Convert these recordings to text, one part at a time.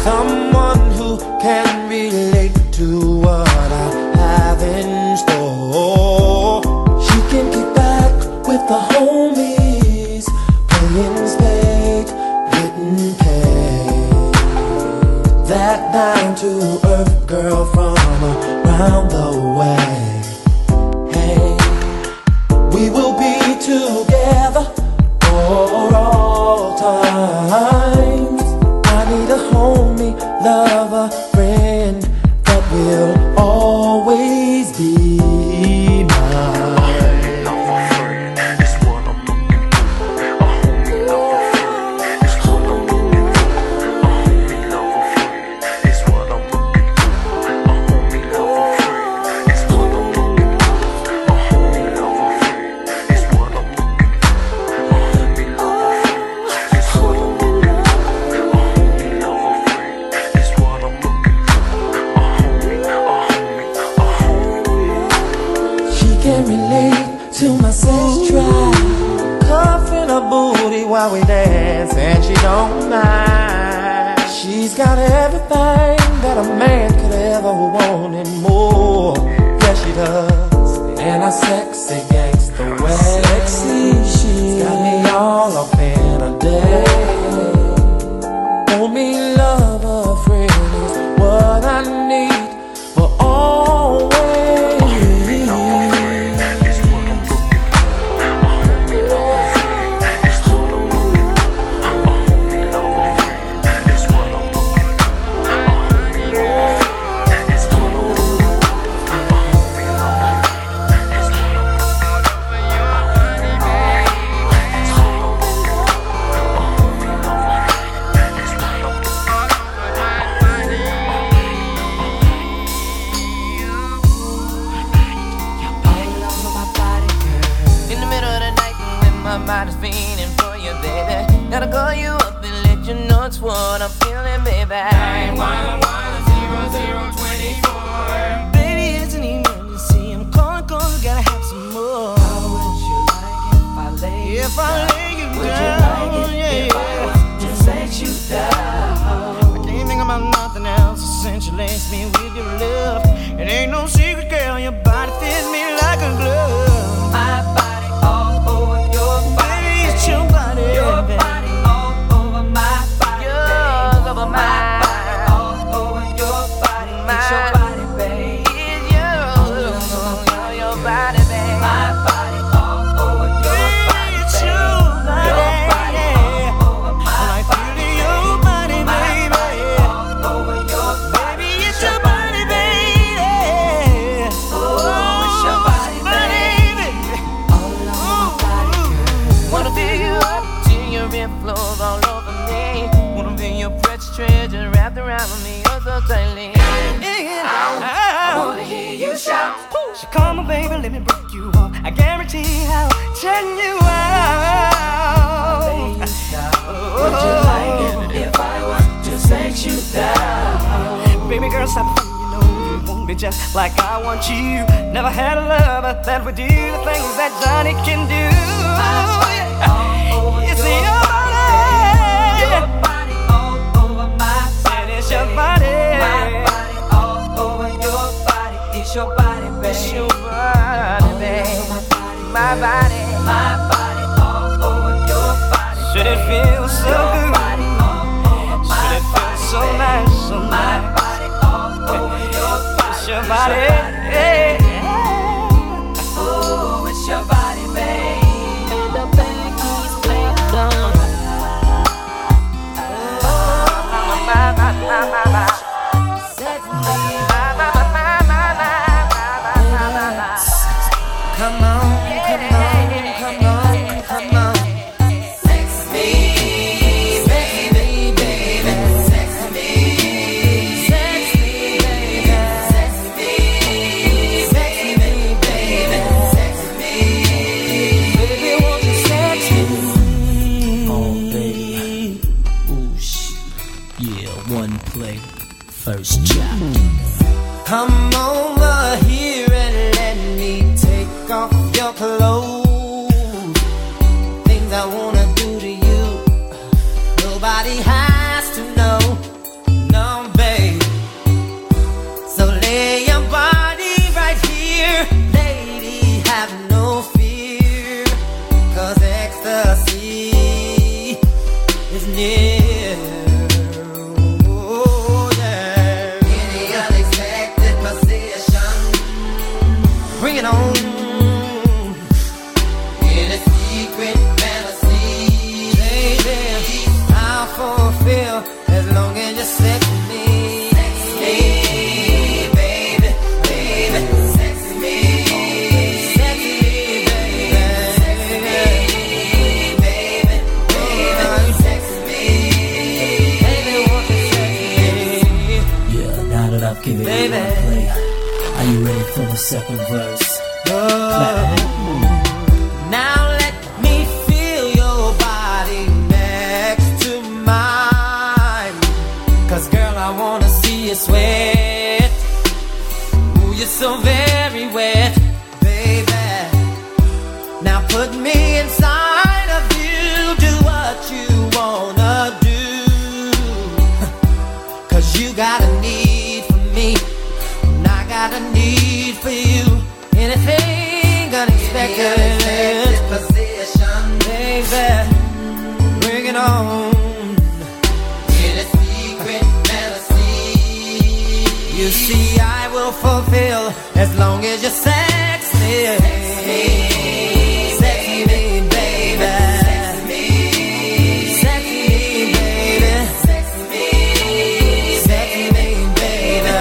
someone who can relate to what I have in store. She can kick back with the homies, playing spades, getting paid. That down to earth girl from around the way. Hey, we will be together for all times. I need a homie, lover, friend that will always be mine. Can relate to my sex drive, cuffing her booty while we dance, and she don't mind. She's got everything that a man could ever want and more. Yeah, she does. And a sexy gangster way. Sexy, she's got me all up in a day. Want me, lover, friend is what I need for always. My mind is feeling for you, baby. Gotta call you up and let you know it's what I'm feeling, baby. 911-0024. Baby, it's an emergency. I'm calling cause I gotta have some more. How would you like if I lay you down? Would you like it if I was to let you down? I can't think about nothing else since you laced me with your love. It ain't no secret, girl, your body fits me like a glove. My body all over your body, baby, your body, your body all over my body, yours over my body, all over your body, it's your body, babe, it's yours, your body, babe, my body all over your body, it's your body, all over my body, your body, baby, all over your baby, it's your body, baby, oh, it's your body, baby, all over my body, girl. Wanna feel you up till your rib flows all over me. Wanna feel your precious treasure wrapped around me, oh so tightly. I wanna hear you shout. So come on, baby, let me break you off. I guarantee I'll turn you out. Would you like it if I was to set you down? Baby girl, stop thinking you know you won't be just like I want you. Never had a lover that would do the things that Johnny can do. It's your body all over my body. It's your body, my body all over your body. It's your body, baby. It's your body, baby. My body all over your body. Should it feel so good? Should it feel so nice, so nice? My body all over your body. It's your body, yeah. Oh, it's your body, baby. The back is playing down. Come on, come on, come on, come on. Sex me, baby, baby. Sex me, sex me, baby. Sex me, sex me, baby. Sex me, baby, won't you sex me? Oh, baby. Ooh, shit. Yeah, one play, first chapter. Come over here and let me take off your clothes. Things I wanna do to you, nobody has to know. No, I'll give it one play. Are you ready for the second verse? Now let me feel your body next to mine. 'Cause girl, I wanna see you sweat. Ooh, you're so very wet, baby. Now put me inside of you. Do what you wanna do. 'Cause you got a need for me, and I got a need for you. Anything unexpected, position, baby, bring it on. In a secret fantasy, you see I will fulfill as long as you're sexy. Sexy me, baby. Sexy me, baby. Sexy me, baby.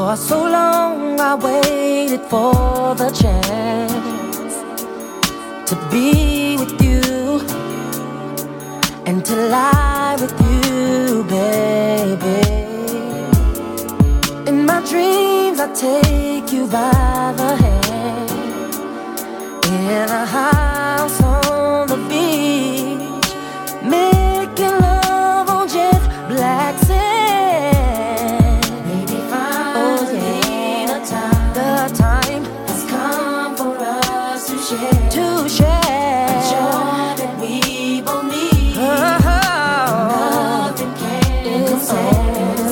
For so long I waited for the chance to be with you and to lie with you, baby. In my dreams I take you by the hand in a house on the beach, making love on jet black sand. Maybe finally the time has come for us to share a joy that we both need. Nothing can compare.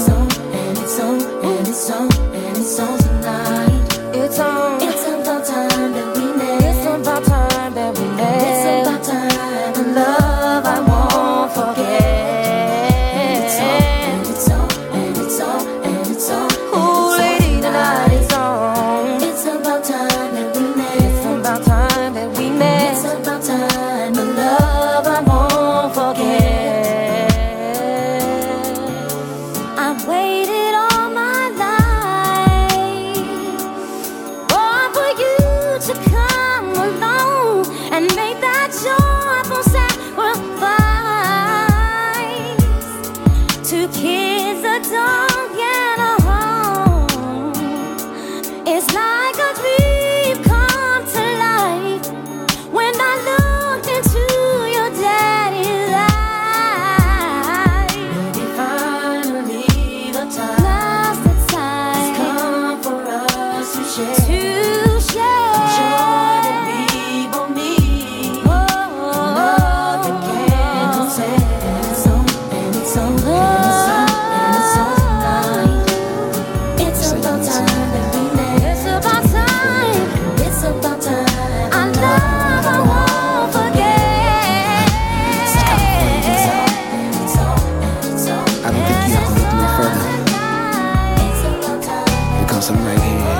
It's on tonight. It's on. It's about time that we met. It's about time that we met. It's about time. The love I won't forget. It's on. Ooh, lady, tonight it's on. It's about time that we met. It's about time that we met. It's about time. The love I won't forget. I've waited all my life to come along and make that joyful sacrifice. 2 kids, a dog, and a home. It's like a dream come to life when I looked into your daddy's eyes. Maybe finally the time, now's the time, has come for us to share. I'm right here,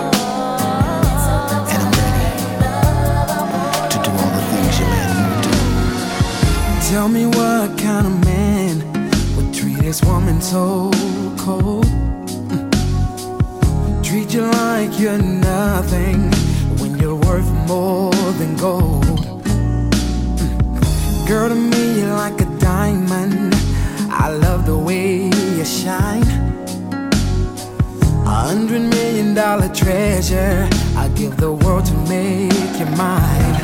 and I'm ready to do all the things you let me do. Tell me what kind of man would treat his woman so cold, treat you like you're nothing when you're worth more than gold. Girl, to me you're like a diamond. I love the way you shine. $100 million treasure, I give the world to make you mine.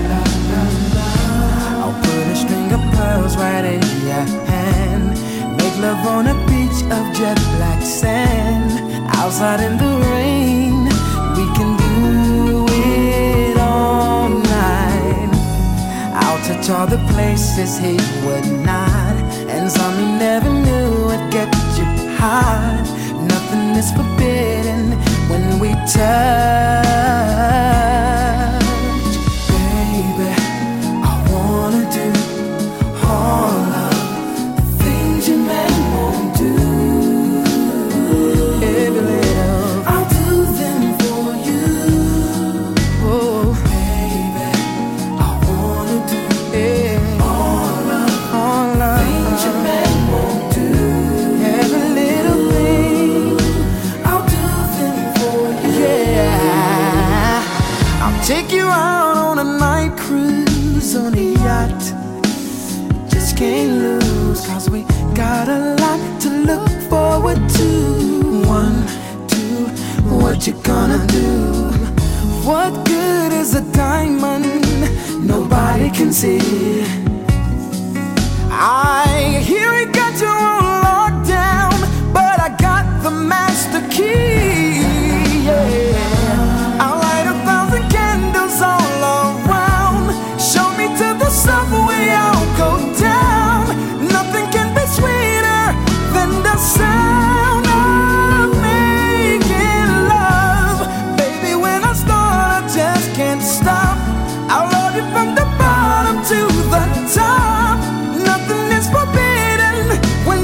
I'll put a string of pearls right in your hand, make love on a beach of jet black sand. Outside in the rain, we can do it all night. I'll touch all the places he would not, and some he never knew would get you hot. Nothing is forbidden when we touch. Baby, I wanna do all of the things your man won't do. Every little, I'll do them for you. Oh, baby, I wanna do all of the things your man won't do. Every little thing, take you out on a night cruise on a yacht. Just can't lose, 'cause we got a lot to look forward to. 1, 2, what you gonna do? What good is a diamond nobody can see? I hear we got you on lockdown, but I got the master key. Yeah. All around, show me to the subway, I'll go down. Nothing can be sweeter than the sound of making love. Baby, when I start, I just can't stop. I'll love you from the bottom to the top. Nothing is forbidden when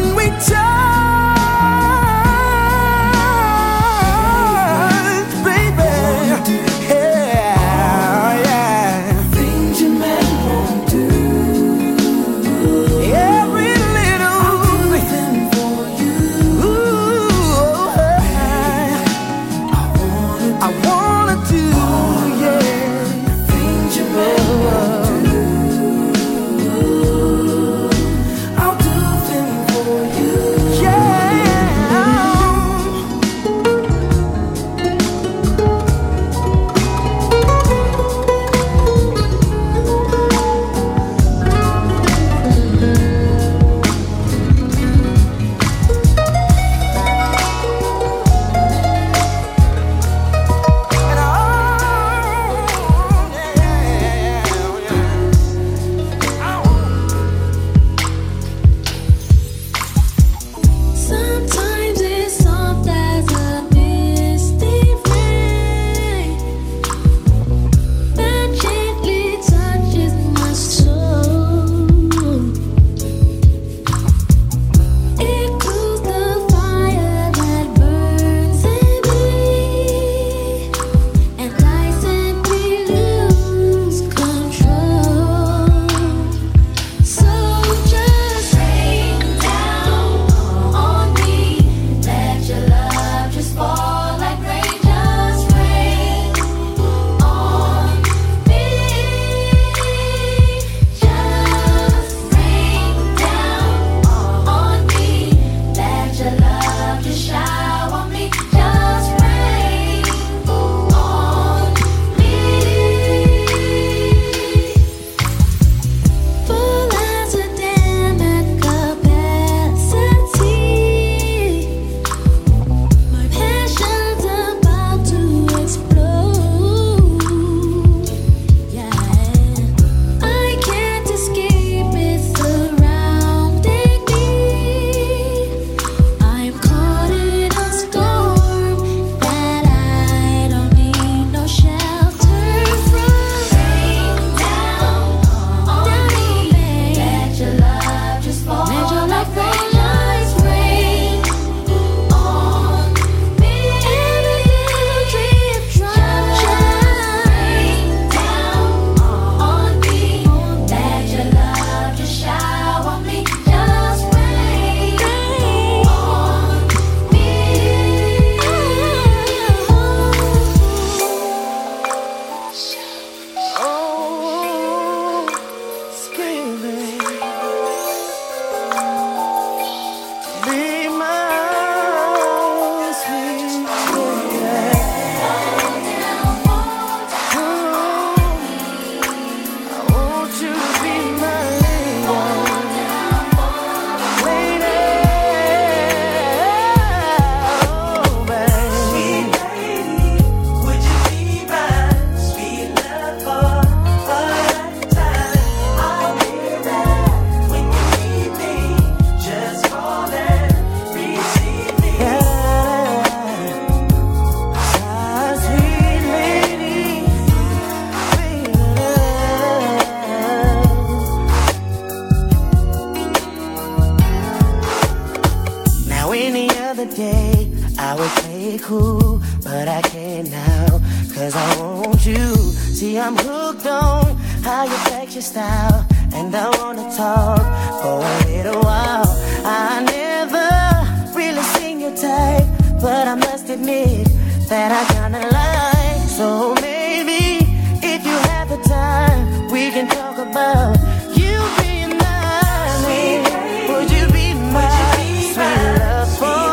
be cool, but I can't now, cause I want you. See, I'm hooked on how you flex your style, and I wanna talk for a little while. I never really seen your type, but I must admit that I kinda like. So maybe if you have the time, we can talk about you being mine. Would you be mine? Sweet love for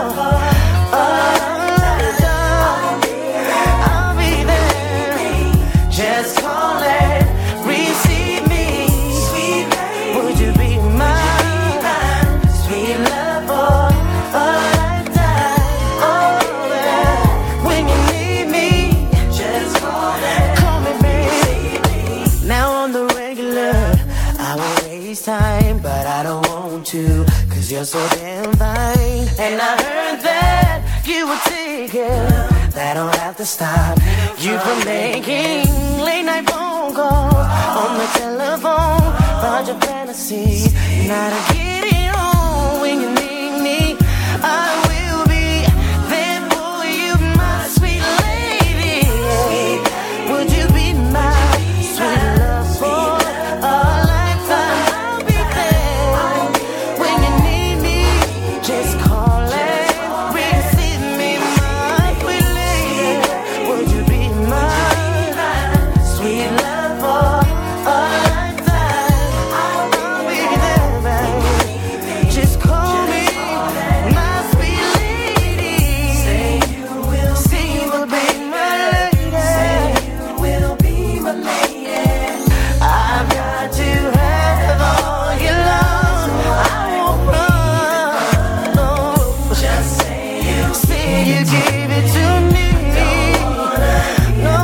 I'll be there. Just call and receive me. Would you be mine? Sweet love for a lifetime. Oh, yeah. When you need me, just call me, baby. Now on the regular, I won't waste time, but I don't want to, cause you're so damn fine. And I heard that you were taken, that don't have to stop you from making late night phone calls on the telephone about your fantasy. Now to get it on when you need me, I will be there for you, my sweet lady. Would you be my sweet love for a lifetime? I'll be there when you need me. Just call and receive me, my sweet lady. Would you be my sweet love for a lifetime? I'll be there, baby. Just call me my sweet lady. Say you will be my lady. Say you will be my lady. I've got to have all your love. I won't run. No, just say you give it to me. No,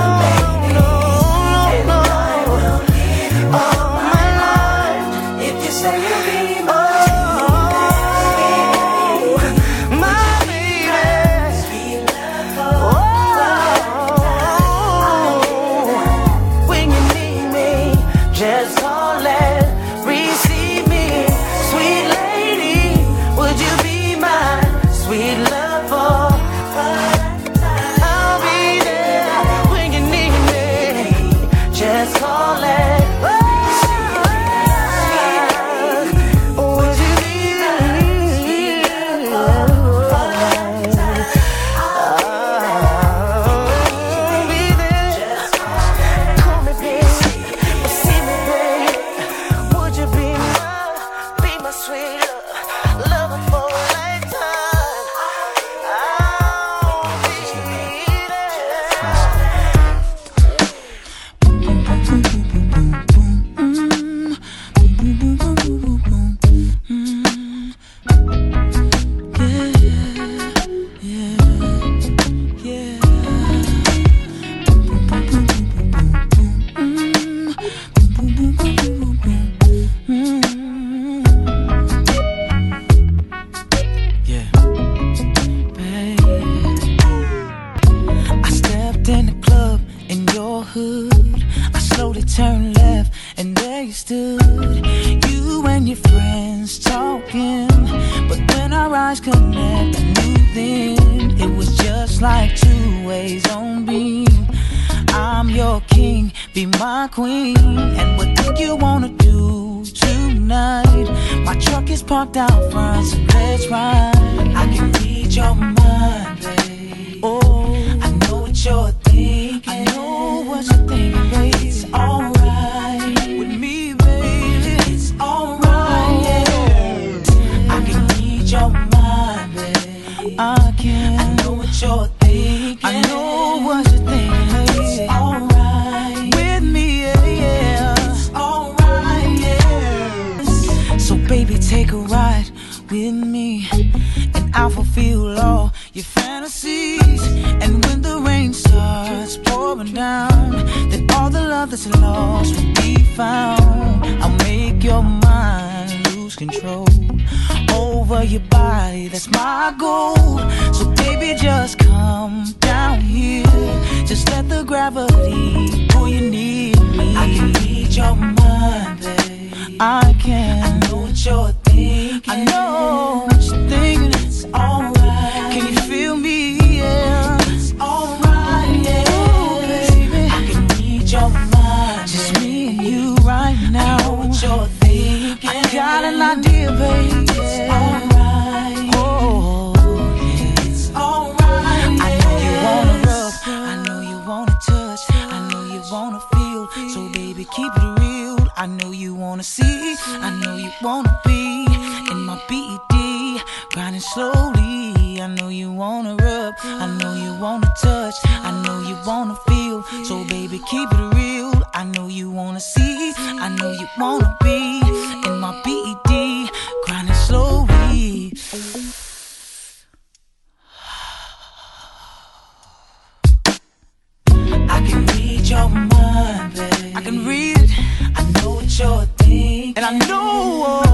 all my life. If you say you'll be my baby. When you need me, just call and receive me, sweet lady. Would you be my sweet love for a lifetime? I'll be there when you need me. Just call and would you be I'll be there. Call me, baby. See me, baby. Would you be my sweet love for a lifetime? I'll be I stepped in the club in your hood. I slowly turned left and there you stood. You and your friends talking, but when our eyes connect, I knew then it was just like two ways on beam. I'm your king, be my queen. And what do you wanna do tonight? My truck is parked out front, so let's ride. I can read your mind, babe. Oh, I know what you're thinking. I know what you're thinking, babe. It's alright with me, baby. It's alright, yeah. I can read your mind, babe. I can. I know what you're thinking. I know what you're thinking, babe. It's alright with me, yeah. It's alright, yeah. So baby, take a ride with me, and I'll fulfill all your fantasies. And when the rain starts pouring down, then all the love that's lost will be found. I'll make your mind lose control over your body, that's my goal. So baby, just come down here. Just let the gravity pull you near me. I can read your mind, babe. I can. I know what you're thinking. I know what you're thinking. It's alright. Can you feel me? Yeah. wanna see, I know you wanna be in my BED, grinding slowly. I know you wanna rub, I know you wanna touch, I know you wanna feel. So baby, keep it real. I know you wanna see, I know you wanna be in my BED, grinding slowly. I can read your mind, babe. I can read it. I know what you're thinking, and I know